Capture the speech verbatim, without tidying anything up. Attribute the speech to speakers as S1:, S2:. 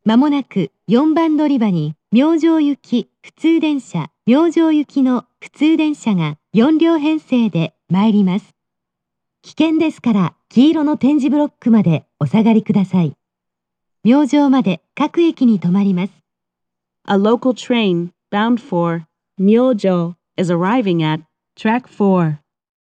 S1: まもなくよんばん乗り場に明星行き普通電車、明星行きの普通電車がよん両編成で参ります。危険ですから黄色の点字ブロックまでお下がりください。明星まで各駅に停まります。
S2: A local train bound for Myojo is arriving at track four.